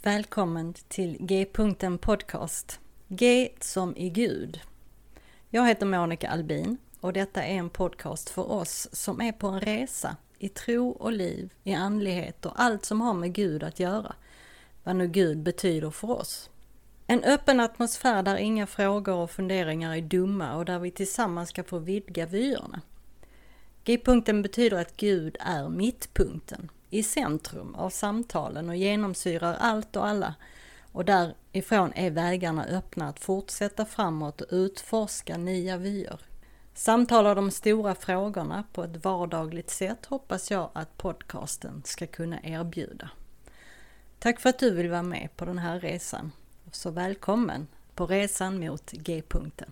Välkommen till G-punkten podcast. G som i Gud. Jag heter Monica Albin och detta är en podcast för oss som är på en resa i tro och liv, i andlighet och allt som har med Gud att göra. Vad nu Gud betyder för oss. En öppen atmosfär där inga frågor och funderingar är dumma och där vi tillsammans ska få vidga vyerna. G-punkten betyder att Gud är mittpunkten, i centrum av samtalen och genomsyrar allt och alla. Och därifrån är vägarna öppna att fortsätta framåt och utforska nya vyer. Samtalar de stora frågorna på ett vardagligt sätt hoppas jag att podcasten ska kunna erbjuda. Tack för att du vill vara med på den här resan. Så välkommen på resan mot G-punkten.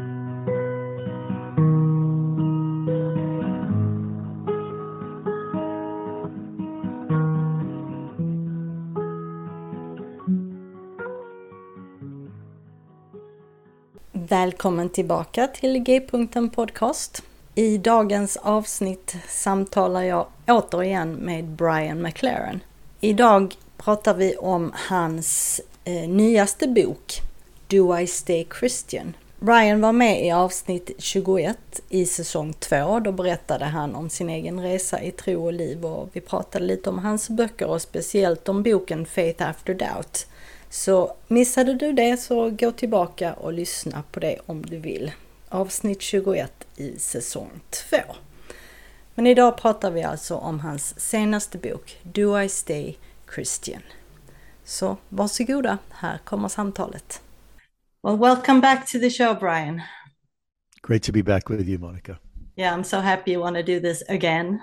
Välkommen tillbaka till G-punkten podcast. I dagens avsnitt samtalar jag återigen med Brian McLaren. Idag pratar vi om hans nyaste bok, Do I Stay Christian? Brian var med i avsnitt 21 i säsong 2. Då berättade han om sin egen resa i tro och liv och vi pratade lite om hans böcker och speciellt om boken Faith After Doubt. Så missade du det så gå tillbaka och lyssna på det om du vill. Avsnitt 21 i säsong 2. Men idag pratar vi alltså om hans senaste bok, Do I Stay Christian? Så varsågoda, här kommer samtalet. Well, welcome back to the show, Brian. Great to be back with you, Monica. Yeah, I'm so happy you want to do this again.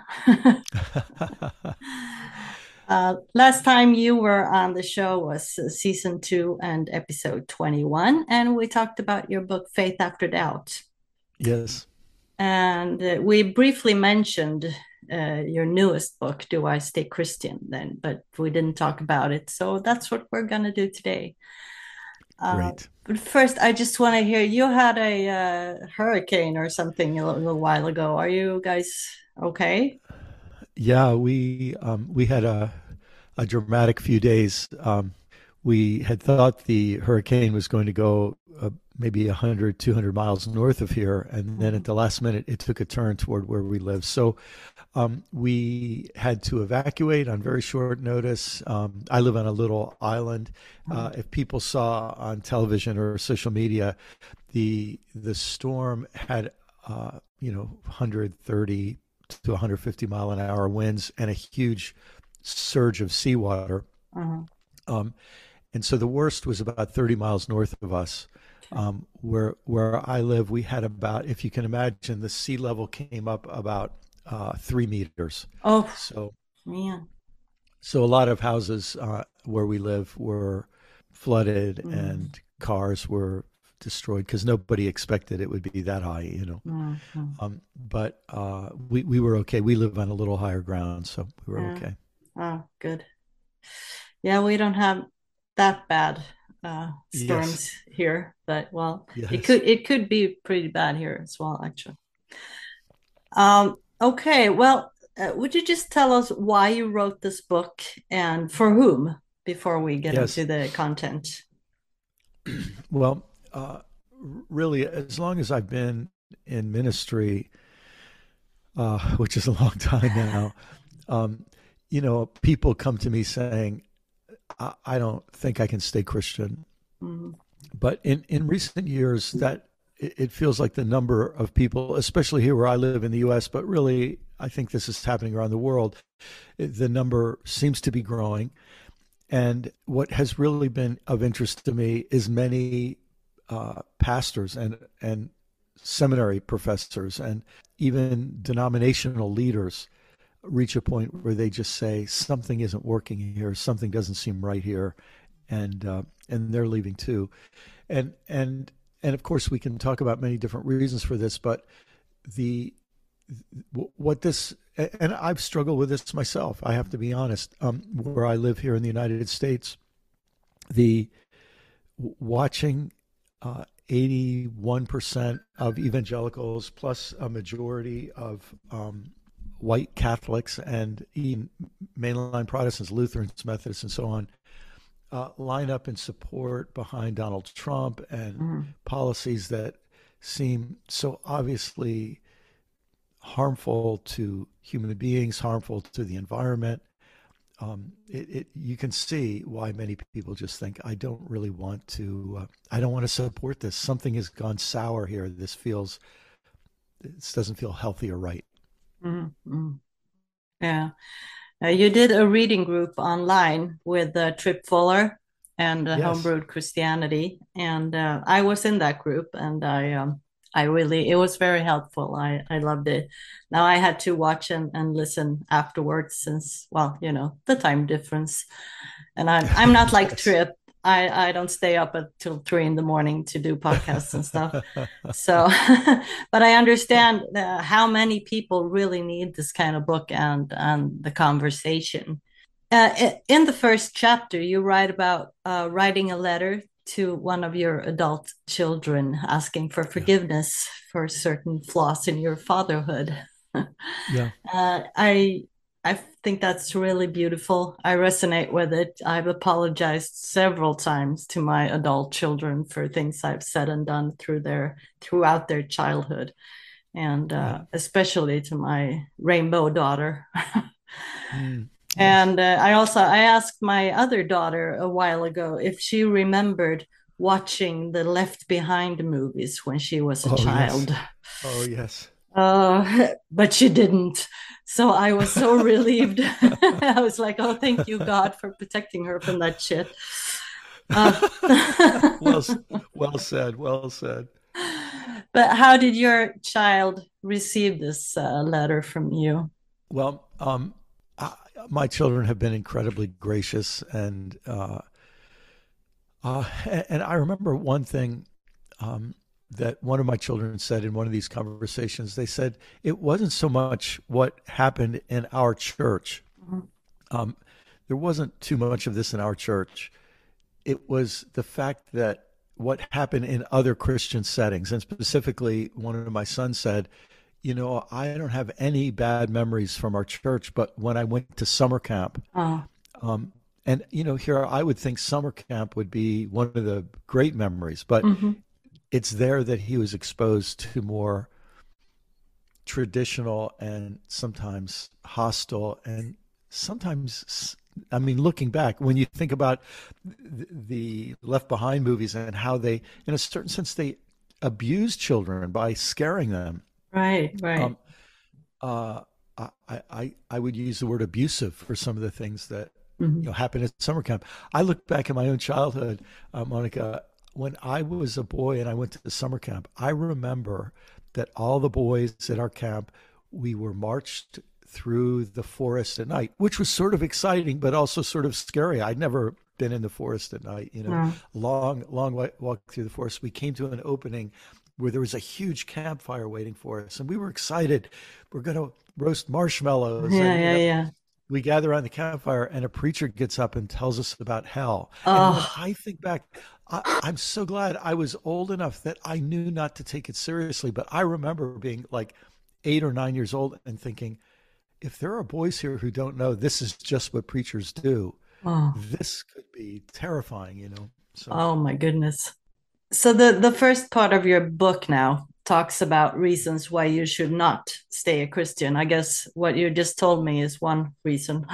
Last time you were on the show was season 2 and episode 21, and we talked about your book, Faith After Doubt. Yes. And we briefly mentioned your newest book, Do I Stay Christian, then, but we didn't talk about it. So that's what we're going to do today. Great. But first, I just want to hear, you had a hurricane or something a little while ago. Are you guys okay? Yeah, we had a dramatic few days. We had thought the hurricane was going to go maybe 100, 200 miles north of here. And then at the last minute, it took a turn toward where we live. So we had to evacuate on very short notice. I live on a little island. If people saw on television or social media, the storm had 130 to 150 mile an hour winds and a huge surge of seawater. And so the worst was about 30 miles north of us. Where I live, we had about, if you can imagine, the sea level came up about 3 meters. Oh, so man. So a lot of houses where we live were flooded and cars were destroyed because nobody expected it would be that high, But we were okay. We live on a little higher ground, so we were okay. Oh, good. Yeah, we don't have that bad storms here, but it could be pretty bad here as well, actually. Okay, well, would you just tell us why you wrote this book and for whom before we get into the content? Well, really, as long as I've been in ministry, which is a long time now, people come to me saying, I don't think I can stay Christian. But in recent years, that it feels like the number of people, especially here where I live in the U.S., but really, I think this is happening around the world, the number seems to be growing. And what has really been of interest to me is many pastors and seminary professors and even denominational leaders reach a point where they just say something isn't working here, something doesn't seem right here, and they're leaving too, and of course we can talk about many different reasons for this, but and I've struggled with this myself. I have to be honest. Where I live here in the United States, the watching 81% of evangelicals plus a majority of white Catholics and even mainline Protestants, Lutherans, Methodists, and so on, line up in support behind Donald Trump and policies that seem so obviously harmful to human beings, harmful to the environment. You can see why many people just think, I don't really want to, I don't want to support this. Something has gone sour here. This doesn't feel healthy or right. Mm-hmm. Yeah. You did a reading group online with Trip Fuller and Yes. Homebrewed Christianity. And I was in that group, and I really, it was very helpful. I loved it. Now I had to watch and listen afterwards since, well, the time difference. And I'm not like Yes. Trip. I don't stay up until 3 a.m. to do podcasts and stuff. So, but I understand how many people really need this kind of book and the conversation. In the first chapter, you write about writing a letter to one of your adult children asking for forgiveness for certain flaws in your fatherhood. Yeah. I think that's really beautiful. I resonate with it. I've apologized several times to my adult children for things I've said and done throughout their childhood, and especially to my rainbow daughter. Yes. And I asked my other daughter a while ago if she remembered watching the Left Behind movies when she was a child. Yes. Oh, yes. But she didn't. So I was so relieved. I was like, oh, thank you, God, for protecting her from that shit. Well said. Well said. But how did your child receive this letter from you? Well, my children have been incredibly gracious, and I remember one thing that one of my children said in one of these conversations. They said it wasn't so much what happened in our church. There wasn't too much of this in our church. It was the fact that what happened in other Christian settings, and specifically one of my sons said, I don't have any bad memories from our church, but when I went to summer camp, and here I would think summer camp would be one of the great memories, but it's there that he was exposed to more traditional and sometimes hostile, and sometimes, I mean, looking back, when you think about the Left Behind movies and how they, in a certain sense, they abuse children by scaring them. Right. I would use the word abusive for some of the things that happened at summer camp. I look back at my own childhood, Monica. When I was a boy and I went to the summer camp, I remember that all the boys at our camp, we were marched through the forest at night, which was sort of exciting, but also sort of scary. I'd never been in the forest at night, long walk through the forest. We came to an opening where there was a huge campfire waiting for us, and we were excited. We're going to roast marshmallows. We gather around the campfire, and a preacher gets up and tells us about hell. And when I think back, I'm so glad I was old enough that I knew not to take it seriously. But I remember being like 8 or 9 years old and thinking, if there are boys here who don't know this is just what preachers do, this could be terrifying, So. Oh my goodness. So the first part of your book now talks about reasons why you should not stay a Christian. I guess what you just told me is one reason.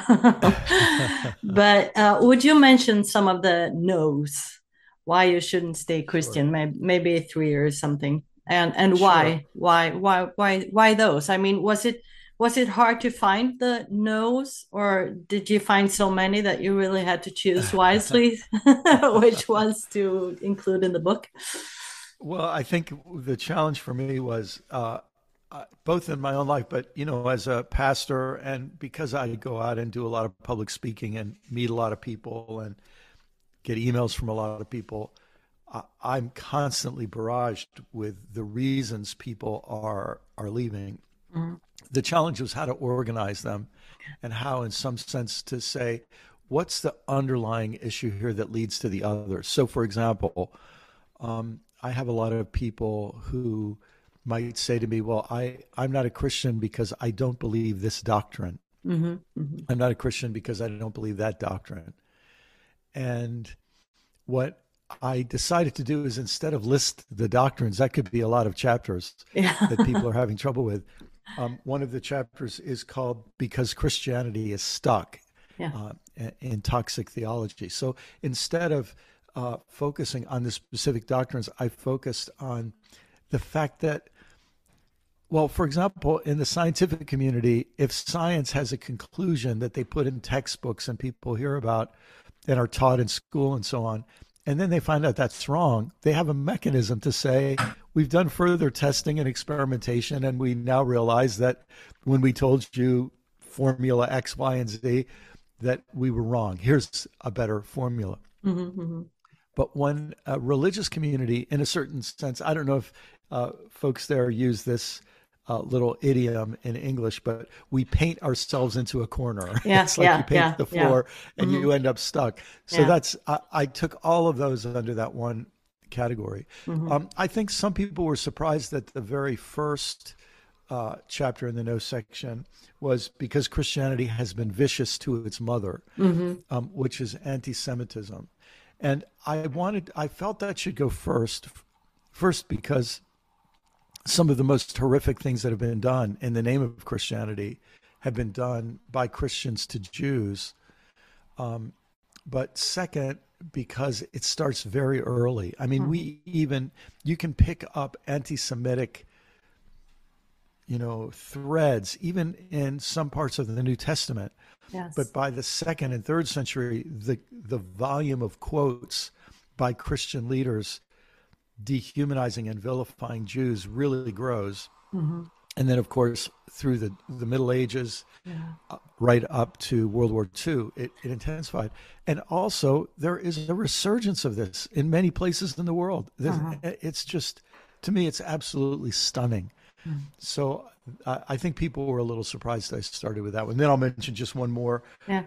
But would you mention some of the no's, why you shouldn't stay Christian? Sure. Maybe 3 or something, and Sure. why those? I mean, was it hard to find the no's, or did you find so many that you really had to choose wisely which ones to include in the book? Well, I think the challenge for me was both in my own life, but as a pastor, and because I go out and do a lot of public speaking and meet a lot of people and get emails from a lot of people, I'm constantly barraged with the reasons people are leaving. The challenge was how to organize them, and how, in some sense, to say, what's the underlying issue here that leads to the other? So, for example, I have a lot of people who might say to me, well, I'm not a Christian because I don't believe this doctrine. I'm not a Christian because I don't believe that doctrine. And what I decided to do is, instead of list the doctrines, that could be a lot of chapters that people are having trouble with. One of the chapters is called "Because Christianity is Stuck in Toxic Theology." So instead of focusing on the specific doctrines, I focused on the fact that, well, for example, in the scientific community, if science has a conclusion that they put in textbooks and people hear about and are taught in school and so on, and then they find out that's wrong, they have a mechanism to say, we've done further testing and experimentation, and we now realize that when we told you formula X, Y, and Z, that we were wrong. Here's a better formula. Mm-hmm. But when a religious community, in a certain sense, I don't know if folks there use this little idiom in English, but we paint ourselves into a corner. It's like you paint the floor and you end up stuck. So that's, I took all of those under that one category. I think some people were surprised that the very first chapter in the no section was because Christianity has been vicious to its mother, which is anti-Semitism. And I felt that should go first because some of the most horrific things that have been done in the name of Christianity have been done by Christians to Jews. But second, because it starts very early. I mean, you can pick up anti-Semitic, threads, even in some parts of the New Testament. Yes. But by the 2nd and 3rd century, the volume of quotes by Christian leaders dehumanizing and vilifying Jews really grows. And then, of course, through the Middle Ages, right up to World War II, it intensified. And also, there is a resurgence of this in many places in the world. It's just, to me, it's absolutely stunning. So I think people were a little surprised I started with that one. Then I'll mention just one more.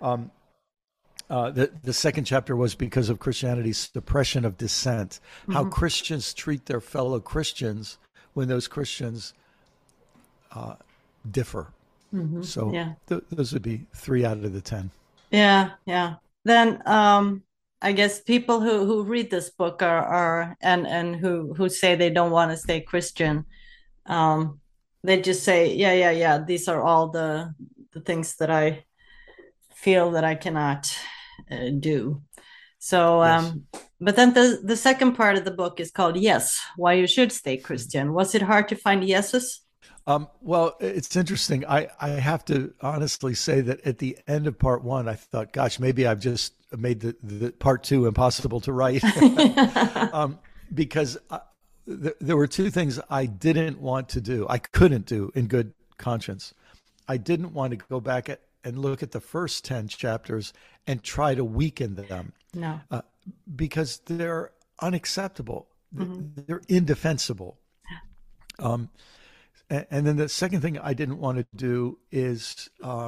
The second chapter was because of Christianity's suppression of dissent, how Christians treat their fellow Christians when those Christians differ. So those would be 3 out of the 10. Yeah. Then I guess people who read this book are and who say they don't want to stay Christian, they just say, yeah, these are all the things that I feel that I cannot do. So, but then the second part of the book is called Yes, Why You Should Stay Christian. Was it hard to find yeses? Well, it's interesting. I have to honestly say that at the end of part 1, I thought, gosh, maybe I've just made the part 2 impossible to write. Because there were 2 things I didn't want to do. I couldn't do in good conscience. I didn't want to go back and look at the first 10 chapters and try to weaken them. No. Because they're unacceptable. They're indefensible. And then the second thing I didn't want to do is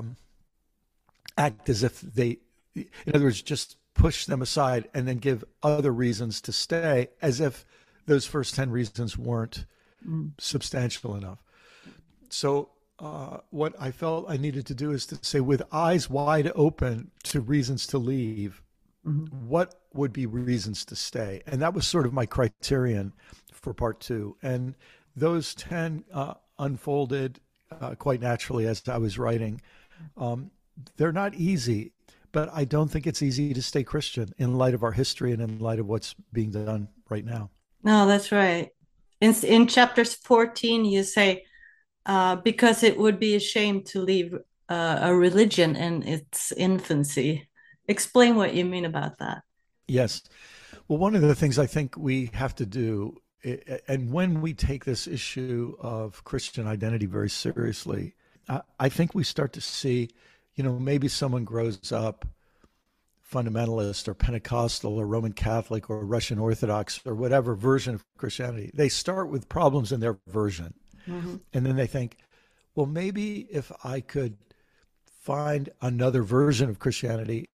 act as if they, in other words, just push them aside and then give other reasons to stay, as if those first 10 reasons weren't substantial enough. So what I felt I needed to do is to say, with eyes wide open to reasons to leave, what would be reasons to stay? And that was sort of my criterion for part 2. And those 10 unfolded quite naturally as I was writing. They're not easy, but I don't think it's easy to stay Christian in light of our history and in light of what's being done right now. No, that's right. In chapters 14, you say, because it would be a shame to leave a religion in its infancy. Explain what you mean about that. Yes. Well, one of the things I think we have to do, and when we take this issue of Christian identity very seriously, I think we start to see, maybe someone grows up fundamentalist or Pentecostal or Roman Catholic or Russian Orthodox or whatever version of Christianity. They start with problems in their version. And then they think, well, maybe if I could find another version of Christianity,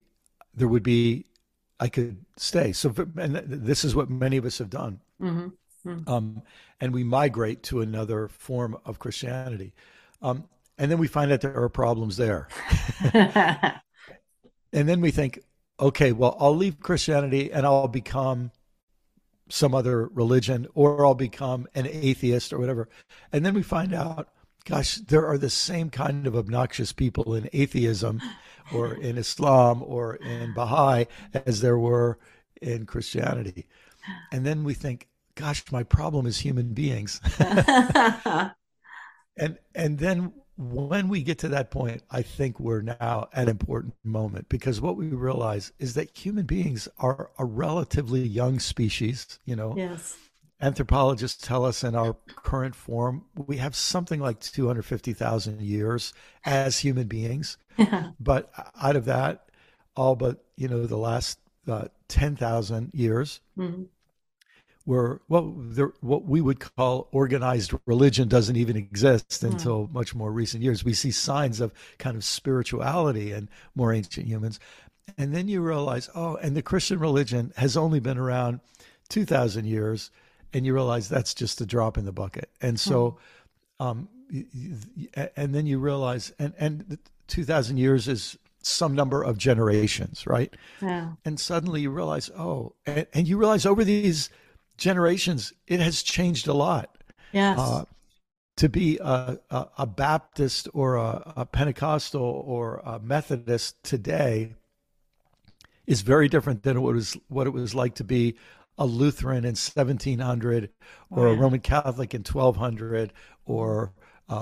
I could stay. So, and this is what many of us have done. And we migrate to another form of Christianity. And then we find out there are problems there. And then we think, okay, well, I'll leave Christianity and I'll become some other religion, or I'll become an atheist or whatever. And then we find out, gosh, there are the same kind of obnoxious people in atheism or in Islam or in Baha'i as there were in Christianity. And then we think, gosh, my problem is human beings. And then when we get to that point, I think we're now at an important moment, because what we realize is that human beings are a relatively young species. Yes. Anthropologists tell us in our current form, we have something like 250,000 years as human beings. Yeah. But out of that, all but, the last 10,000 years, Mm-hmm. what we would call organized religion doesn't even exist until much more recent years. We see signs of kind of spirituality in more ancient humans. And then you realize, and the Christian religion has only been around 2,000 years, and you realize that's just a drop in the bucket. And so, and then you realize, and 2,000 years is some number of generations, right? Yeah. And suddenly you realize, and you realize over these generations, it has changed a lot. Yes. To be a Baptist or a Pentecostal or a Methodist today is very different than what it was like to be a Lutheran in 1700 or a Roman Catholic in 1200 or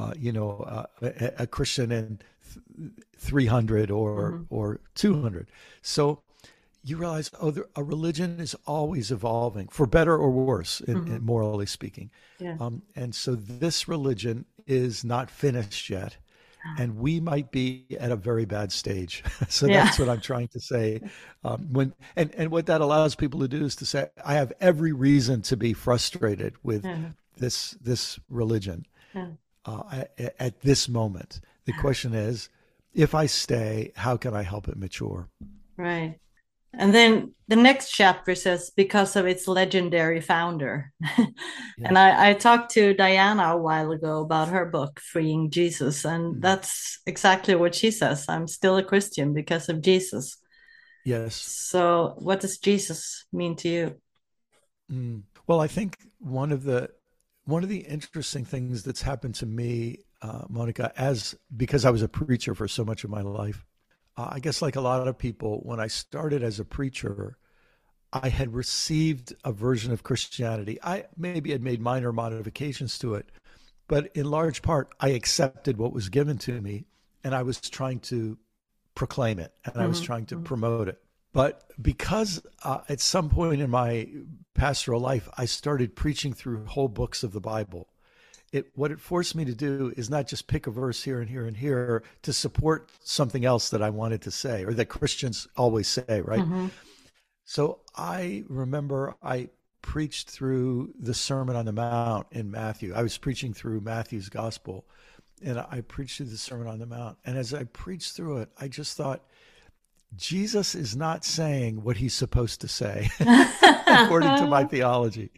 a Christian in 300 or 200. So you realize, a religion is always evolving, for better or worse, in morally speaking. Yeah. And so this religion is not finished yet, and we might be at a very bad stage. So that's what I'm trying to say. And what that allows people to do is to say, I have every reason to be frustrated with this religion at this moment. The question is, if I stay, how can I help it mature? Right. And then the next chapter says, because of its legendary founder. And I talked to Diana a while ago about her book, Freeing Jesus. And that's exactly what she says. I'm still a Christian because of Jesus. Yes. So what does Jesus mean to you? Well, I think one of the interesting things that's happened to me, Monica, because I was a preacher for so much of my life, I guess like a lot of people, when I started as a preacher, I had received a version of Christianity. I maybe had made minor modifications to it, but in large part, I accepted what was given to me, and I was trying to proclaim it, and I was trying to promote it. But because at some point in my pastoral life, I started preaching through whole books of the Bible. What it forced me to do is not just pick a verse here and here and here to support something else that I wanted to say, or that Christians always say, right? So I remember I preached through the Sermon on the Mount in Matthew. I was preaching through Matthew's gospel, and I preached through the Sermon on the Mount. And as I preached through it, I just thought, Jesus is not saying what he's supposed to say, according to my theology.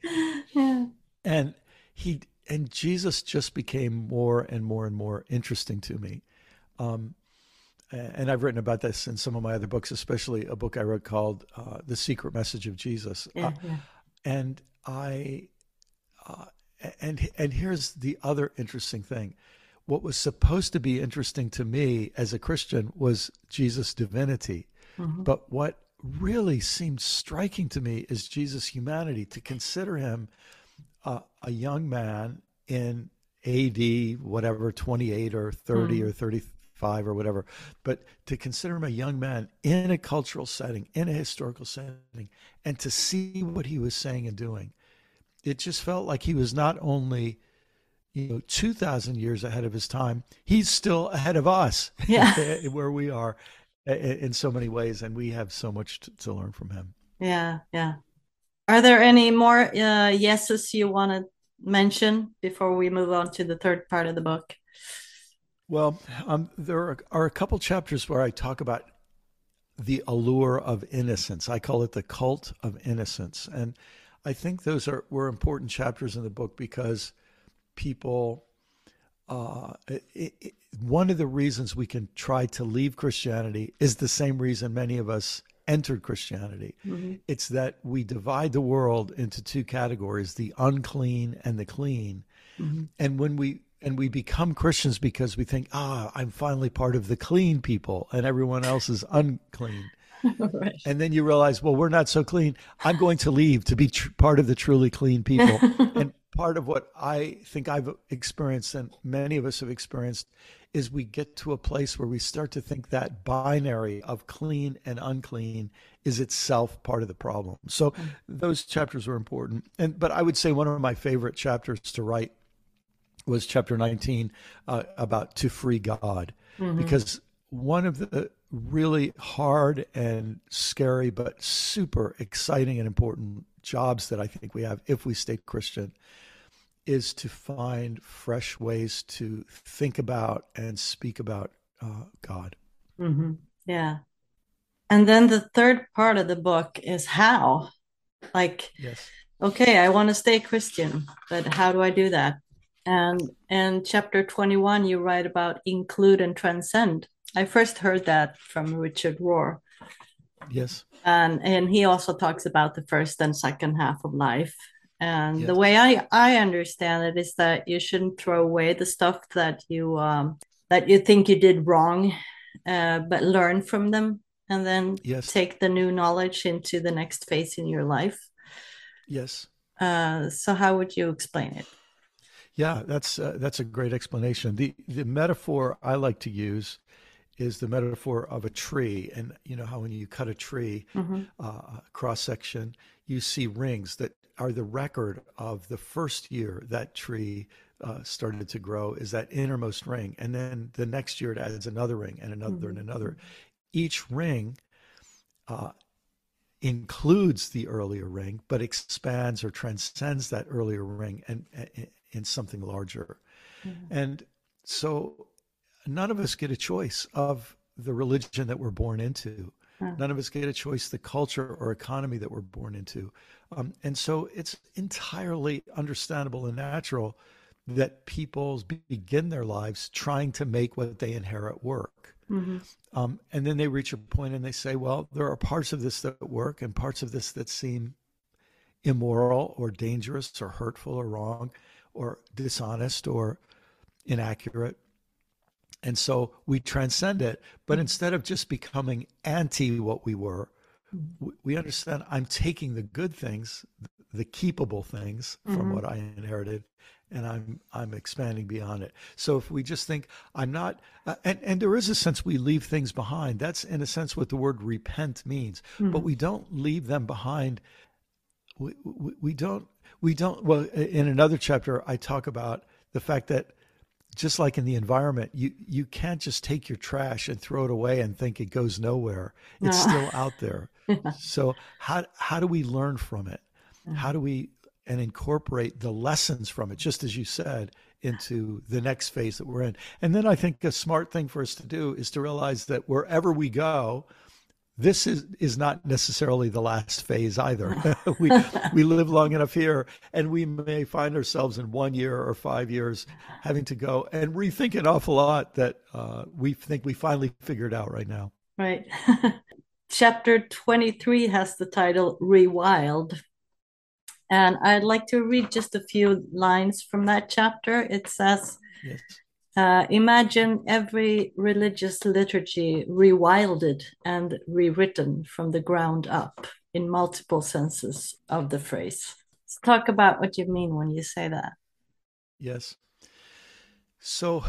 And Jesus just became more and more and more interesting to me. And I've written about this in some of my other books, especially a book I wrote called The Secret Message of Jesus. And here's the other interesting thing. What was supposed to be interesting to me as a Christian was Jesus' divinity. But what really seemed striking to me is Jesus' humanity, to consider him a young man in AD, whatever, 28 or 30 or 35 or whatever, but to consider him a young man in a cultural setting, in a historical setting, and to see what he was saying and doing. It just felt like he was not only 2,000 years ahead of his time, he's still ahead of us where we are in so many ways, and we have so much to learn from him. Yeah. Are there any more yeses you want to mention before we move on to the third part of the book? Well, there are a couple chapters where I talk about the allure of innocence. I call it the cult of innocence. And I think those were important chapters in the book because people, one of the reasons we can try to leave Christianity is the same reason many of us entered Christianity. Mm-hmm. It's that we divide the world into two categories, the unclean and the clean. Mm-hmm. And when we become Christians because we think, I'm finally part of the clean people and everyone else is unclean. Right. And then you realize, well, we're not so clean. I'm going to leave to be part of the truly clean people. And part of what I think I've experienced and many of us have experienced is we get to a place where we start to think that binary of clean and unclean is itself part of the problem. So those chapters were important. But I would say one of my favorite chapters to write was chapter 19 about to free God, because one of the really hard and scary but super exciting and important jobs that I think we have if we stay Christian is to find fresh ways to think about and speak about God. Mm-hmm. Yeah. And then the third part of the book is how. Like, yes, okay, I want to stay Christian, but how do I do that? And chapter 21, you write about include and transcend. I first heard that from Richard Rohr. Yes. And he also talks about the first and second half of life. And yes. the way I understand it is that you shouldn't throw away the stuff that you think you did wrong, but learn from them and then take the new knowledge into the next phase in your life. Yes. So how would you explain it? Yeah, that's a great explanation. The metaphor I like to use is the metaphor of a tree. And you know how when you cut a tree, cross section, you see rings that are the record of the first year that tree started to grow, is that innermost ring. And then the next year it adds another ring and another and another. Each ring includes the earlier ring, but expands or transcends that earlier ring and in something larger. And so none of us get a choice of the religion that we're born into. None of us get a choice the culture or economy that we're born into. And so it's entirely understandable and natural that people begin their lives trying to make what they inherit work. And then they reach a point and they say, well, there are parts of this that work and parts of this that seem immoral or dangerous or hurtful or wrong or dishonest or inaccurate. And so we transcend it. But instead of just becoming anti what we were, we understand I'm taking the good things, the keepable things from what I inherited, and I'm expanding beyond it. So if we just think I'm not, and there is a sense we leave things behind. That's in a sense what the word repent means. But we don't leave them behind. We don't. Well, in another chapter, I talk about the fact that just like in the environment, you can't just take your trash and throw it away and think it goes nowhere. It's still out there. So how do we learn from it? How do we and incorporate the lessons from it, just as you said, into the next phase that we're in? And then I think a smart thing for us to do is to realize that wherever we go, this is not necessarily the last phase either. We live long enough here, and we may find ourselves in 1 year or 5 years having to go and rethink an awful lot that we think we finally figured out right now. Right. Chapter 23 has the title Rewild. And I'd like to read just a few lines from that chapter. It says, yes. Imagine every religious liturgy rewilded and rewritten from the ground up in multiple senses of the phrase. Let's talk about what you mean when you say that. Yes. So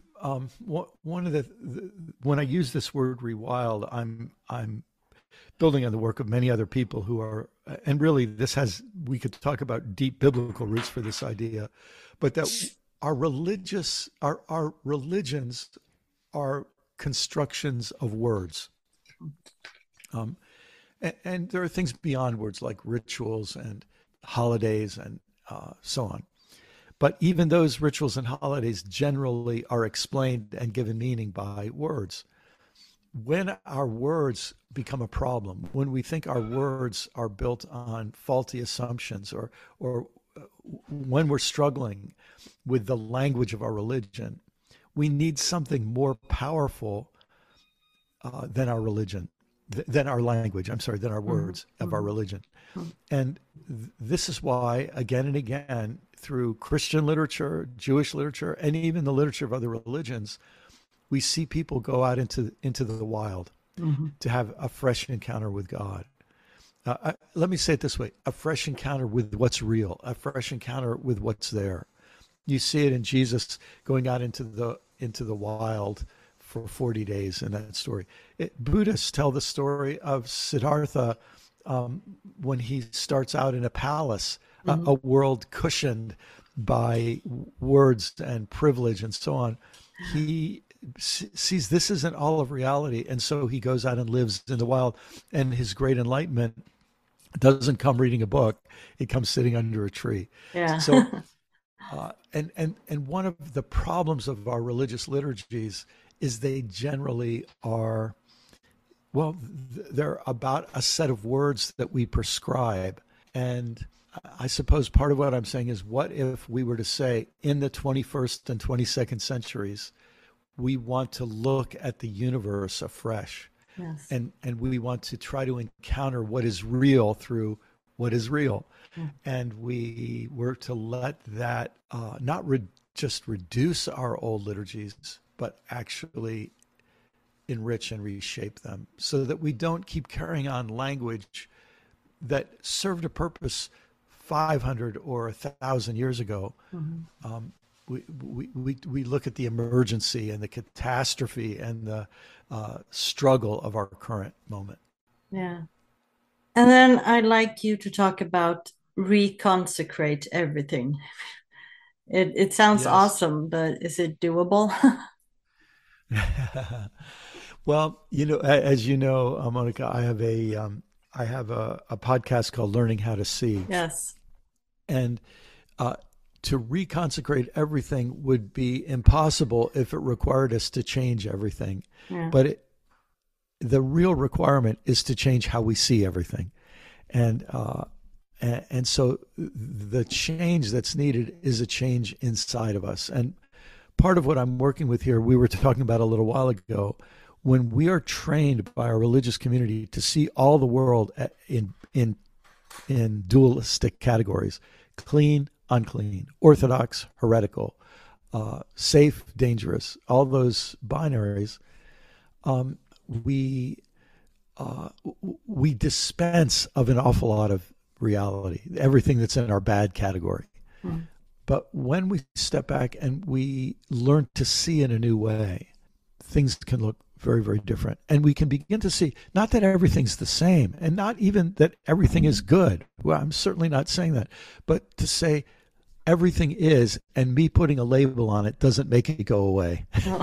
one of when I use this word rewild, I'm building on the work of many other people who are, and really we could talk about deep biblical roots for this idea, but that our religions are constructions of words. And there are things beyond words like rituals and holidays and so on. But even those rituals and holidays generally are explained and given meaning by words. When our words become a problem, when we think our words are built on faulty assumptions, or when we're struggling with the language of our religion, we need something more powerful than our religion. than our language. I'm sorry, than our words of our religion. And this is why, again and again, through Christian literature, Jewish literature, and even the literature of other religions, we see people go out into the wild to have a fresh encounter with God. Let me say it this way: a fresh encounter with what's real, a fresh encounter with what's there. You see it in Jesus going out into the wild for 40 days in that story. Buddhists tell the story of Siddhartha when he starts out in a palace, a world cushioned by words and privilege and so on. He sees this isn't all of reality, and so he goes out and lives in the wild, and his great enlightenment doesn't come reading a book. It comes sitting under a tree. Yeah. So and one of the problems of our religious liturgies is they generally are, well, they're about a set of words that we prescribe. And I suppose part of what I'm saying is, what if we were to say in the 21st and 22nd centuries, we want to look at the universe afresh. Yes. And we want to try to encounter what is real through what is real. And we were to let that not just reduce our old liturgies, but actually enrich and reshape them, so that we don't keep carrying on language that served a purpose 500 or 1,000 years ago. We look at the emergency and the catastrophe and the struggle of our current moment. Yeah. And then I'd like you to talk about reconsecrate everything. It sounds awesome, but is it doable? Well, as you know, Monica, I have a podcast called Learning How to See. Yes. And to reconsecrate everything would be impossible if it required us to change everything. Yeah. But the real requirement is to change how we see everything. And so the change that's needed is a change inside of us. And part of what I'm working with here, we were talking about a little while ago, when we are trained by our religious community to see all the world in dualistic categories: clean, unclean, orthodox, heretical, safe, dangerous, all those binaries, we dispense of an awful lot of reality, everything that's in our bad category. But when we step back and we learn to see in a new way, things can look very, very different. And we can begin to see, not that everything's the same, and not even that everything is good. Well, I'm certainly not saying that, but to say everything is, and me putting a label on it doesn't make it go away.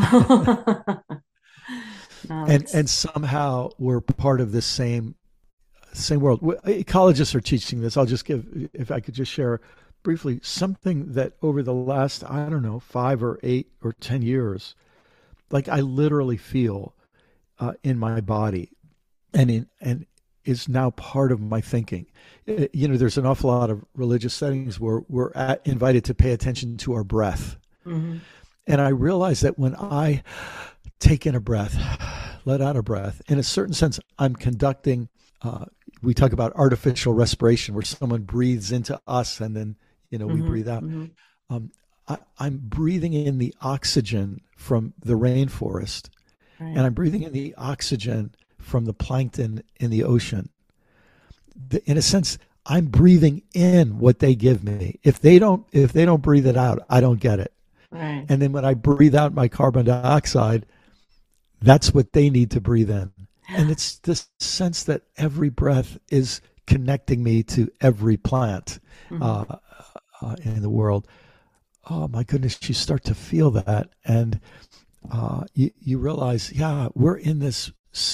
And somehow we're part of this same world. Ecologists are teaching this. I'll just give, if I could just share briefly, something that over the last, 5 or 8 or 10 years, like I literally feel in my body and is now part of my thinking. There's an awful lot of religious settings where we're invited to pay attention to our breath. And I realize that when I take in a breath, let out a breath, in a certain sense, I'm conducting, we talk about artificial respiration, where someone breathes into us and then, we breathe out. I'm breathing in the oxygen from the rainforest, and I'm breathing in the oxygen from the plankton in the ocean. In a sense, I'm breathing in what they give me. If they don't breathe it out, I don't get it. Right. And then when I breathe out my carbon dioxide, that's what they need to breathe in. And it's this sense that every breath is connecting me to every plant in the world. Oh my goodness, you start to feel that, and you realize, we're in this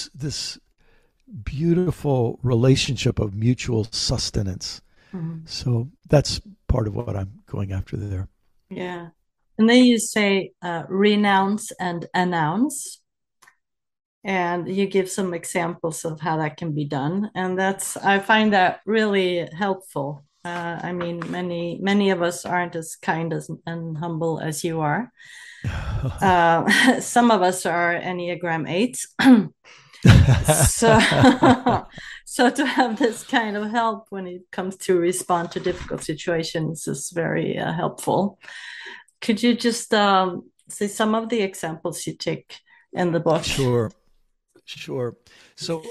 beautiful relationship of mutual sustenance. So that's part of what I'm going after there. Yeah. And then you say renounce and announce, and you give some examples of how that can be done, and I find that really helpful. Many of us aren't as kind and humble as you are. Some of us are Enneagram 8s. So, so to have this kind of help when it comes to respond to difficult situations is very helpful. Could you just say some of the examples you take in the book? Sure. So,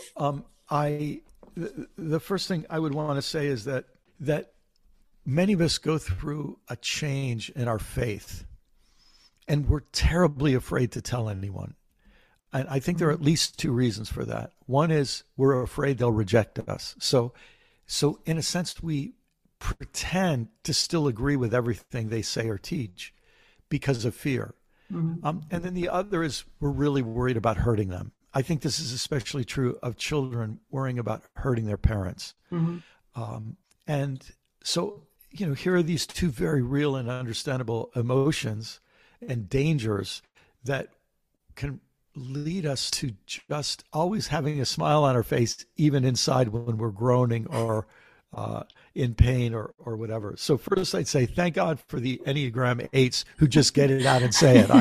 the first thing I would want to say is that many of us go through a change in our faith, and we're terribly afraid to tell anyone. And I think there are at least two reasons for that. One is we're afraid they'll reject us. So in a sense, we pretend to still agree with everything they say or teach because of fear. And then the other is we're really worried about hurting them. I think this is especially true of children worrying about hurting their parents. And so, here are these two very real and understandable emotions and dangers that can lead us to just always having a smile on our face, even inside when we're groaning or in pain or whatever. So first I'd say, thank God for the Enneagram 8s who just get it out and say it.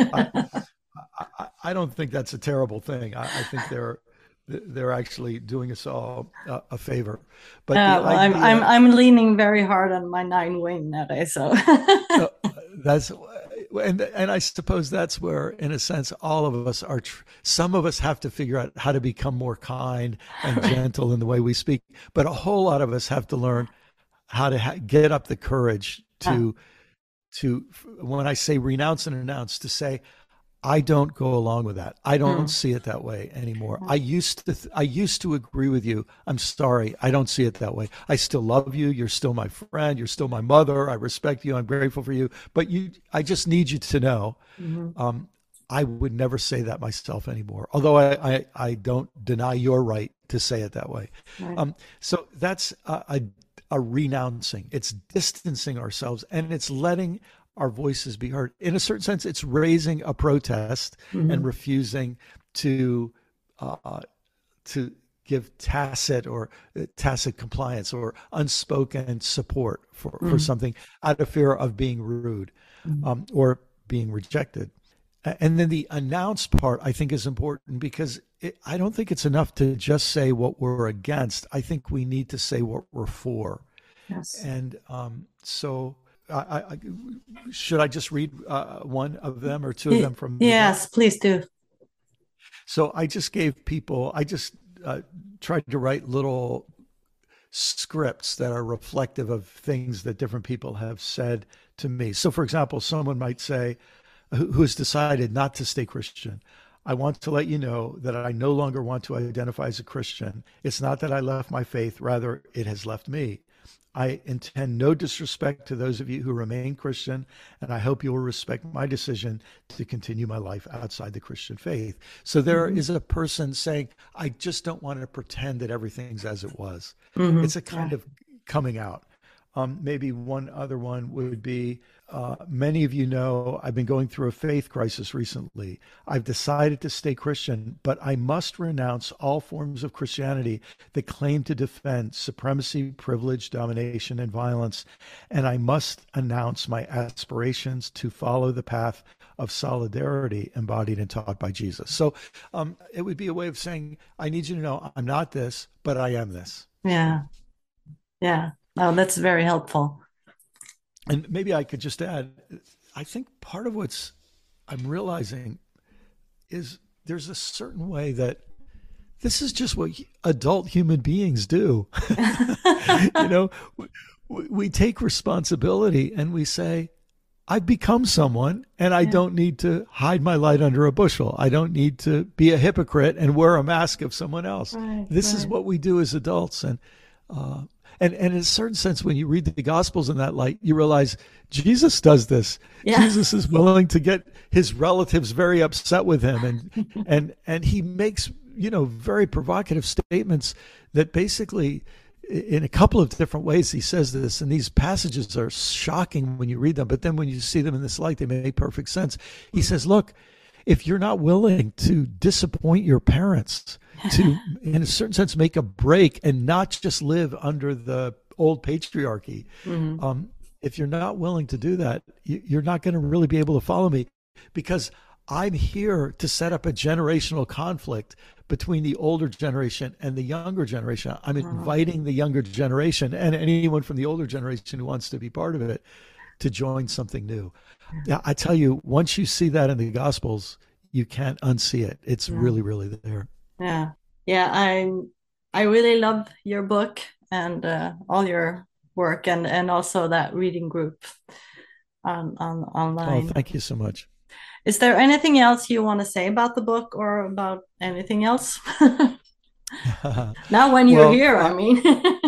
I don't think that's a terrible thing. I think they're actually doing us all a favor. But I'm leaning very hard on my 9 wing nowadays. So that's. And I suppose that's where, in a sense, all of us are. Some of us have to figure out how to become more kind and gentle in the way we speak, but a whole lot of us have to learn how to get up the courage to when I say renounce and announce, to say, I don't go along with that. I don't see it that way anymore. I used to agree with you. I'm sorry. I don't see it that way. I still love you. You're still my friend. You're still my mother. I respect you. I'm grateful for you. But I just need you to know, I would never say that myself anymore. Although I don't deny your right to say it that way. Right. So that's a renouncing. It's distancing ourselves, and it's letting our voices be heard. In a certain sense, it's raising a protest and refusing to give tacit compliance or unspoken support for something out of fear of being rude or being rejected. And then the announce part, I think, is important because I don't think it's enough to just say what we're against. I think we need to say what we're for. Yes. And so should I just read one of them or two of them from? Yes, please do. So I just tried to write little scripts that are reflective of things that different people have said to me. So for example, someone might say, who has decided not to stay Christian, I want to let you know that I no longer want to identify as a Christian. It's not that I left my faith, rather it has left me. I intend no disrespect to those of you who remain Christian, and I hope you will respect my decision to continue my life outside the Christian faith. So there is a person saying, I just don't want to pretend that everything's as it was. It's a kind of coming out. Maybe one other one would be, many of you know I've been going through a faith crisis recently. I've decided to stay Christian, but I must renounce all forms of Christianity that claim to defend supremacy, privilege, domination, and violence. And I must announce my aspirations to follow the path of solidarity embodied and taught by Jesus. So it would be a way of saying, I need you to know I'm not this, but I am this. Yeah. Oh, that's very helpful. And maybe I could just add, I think part of what's I'm realizing is there's a certain way that this is just what adult human beings do. We take responsibility and we say, I've become someone and I don't need to hide my light under a bushel. I don't need to be a hypocrite and wear a mask of someone else. This is what we do as adults. And in a certain sense, when you read the Gospels in that light, you realize Jesus does this. Yeah. Jesus is willing to get his relatives very upset with him, and he makes very provocative statements that basically, in a couple of different ways, he says this. And these passages are shocking when you read them, but then when you see them in this light, they make perfect sense. He says, "Look, if you're not willing to disappoint your parents, to, in a certain sense, make a break and not just live under the old patriarchy. If you're not willing to do that, you're not going to really be able to follow me, because I'm here to set up a generational conflict between the older generation and the younger generation. I'm inviting the younger generation and anyone from the older generation who wants to be part of it to join something new. Yeah, I tell you, once you see that in the Gospels, you can't unsee it. It's really, really there. Yeah. Yeah. I really love your book and all your work and also that reading group online. Oh, thank you so much. Is there anything else you want to say about the book or about anything else? Now when you're here, I mean.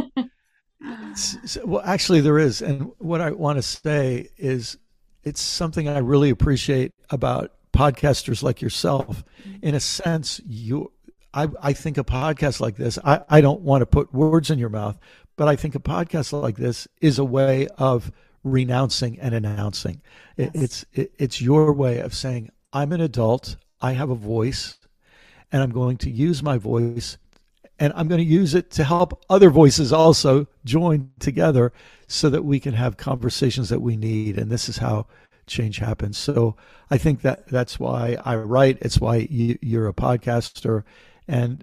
Well, actually there is. And what I want to say is it's something I really appreciate about podcasters like yourself. In a sense, I think a podcast like this, I don't want to put words in your mouth, but I think a podcast like this is a way of renouncing and announcing. Yes. It's your way of saying, I'm an adult, I have a voice, and I'm going to use my voice, and I'm going to use it to help other voices also join together so that we can have conversations that we need. And this is how change happens. So I think that's why I write. It's why you're a podcaster. And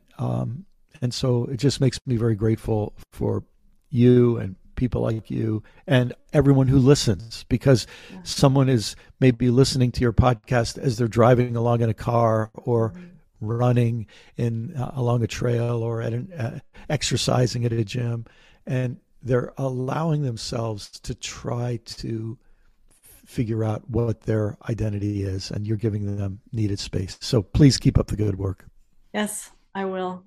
so it just makes me very grateful for you and people like you and everyone who listens, because someone is maybe listening to your podcast as they're driving along in a car or running along a trail or at exercising at a gym, and they're allowing themselves to try to figure out what their identity is, and you're giving them needed space. So please keep up the good work. Yes, I will.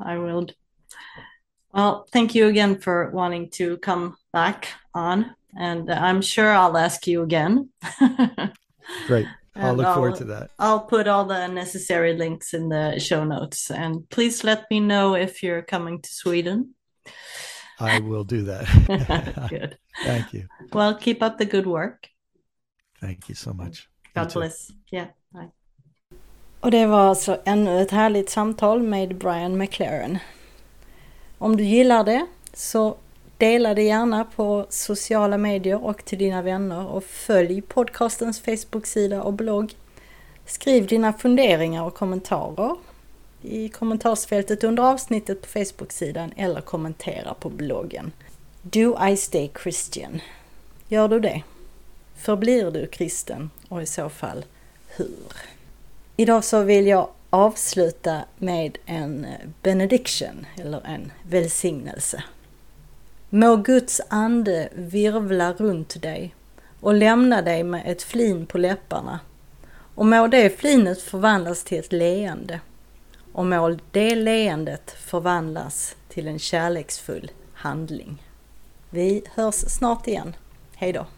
Well, thank you again for wanting to come back on, and I'm sure I'll ask you again. Great. I'll look forward to that. I'll put all the necessary links in the show notes, and please let me know if you're coming to Sweden. I will do that. Good. Thank you. Well, keep up the good work. Thank you so much. God bless. Yeah, bye. Och det var alltså ännu ett härligt samtal med Brian McLaren. Om du gillar det så dela det gärna på sociala medier och till dina vänner, och följ podcastens Facebook-sida och blogg. Skriv dina funderingar och kommentarer i kommentarsfältet under avsnittet på Facebook-sidan eller kommentera på bloggen. Do I stay Christian? Gör du det? Förblir du kristen, och i så fall hur? Idag så vill jag avsluta med en benediction eller en välsignelse. Må Guds ande virvla runt dig och lämna dig med ett flin på läpparna, och må det flinet förvandlas till ett leende, och må det leendet förvandlas till en kärleksfull handling. Vi hörs snart igen. Hej då!